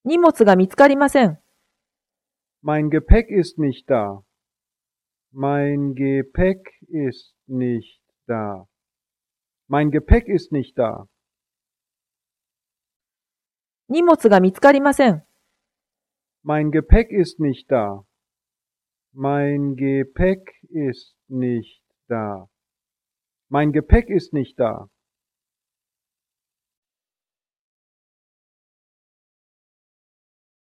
荷物が見つかりません。 Mein Gepäck ist nicht da. Mein Gepäck ist nicht da. Mein Gepäck ist nicht da. 荷物が見つかりません。 Mein Gepäck ist nicht da. Mein Gepäck ist nicht da. Mein Gepäck ist nicht da.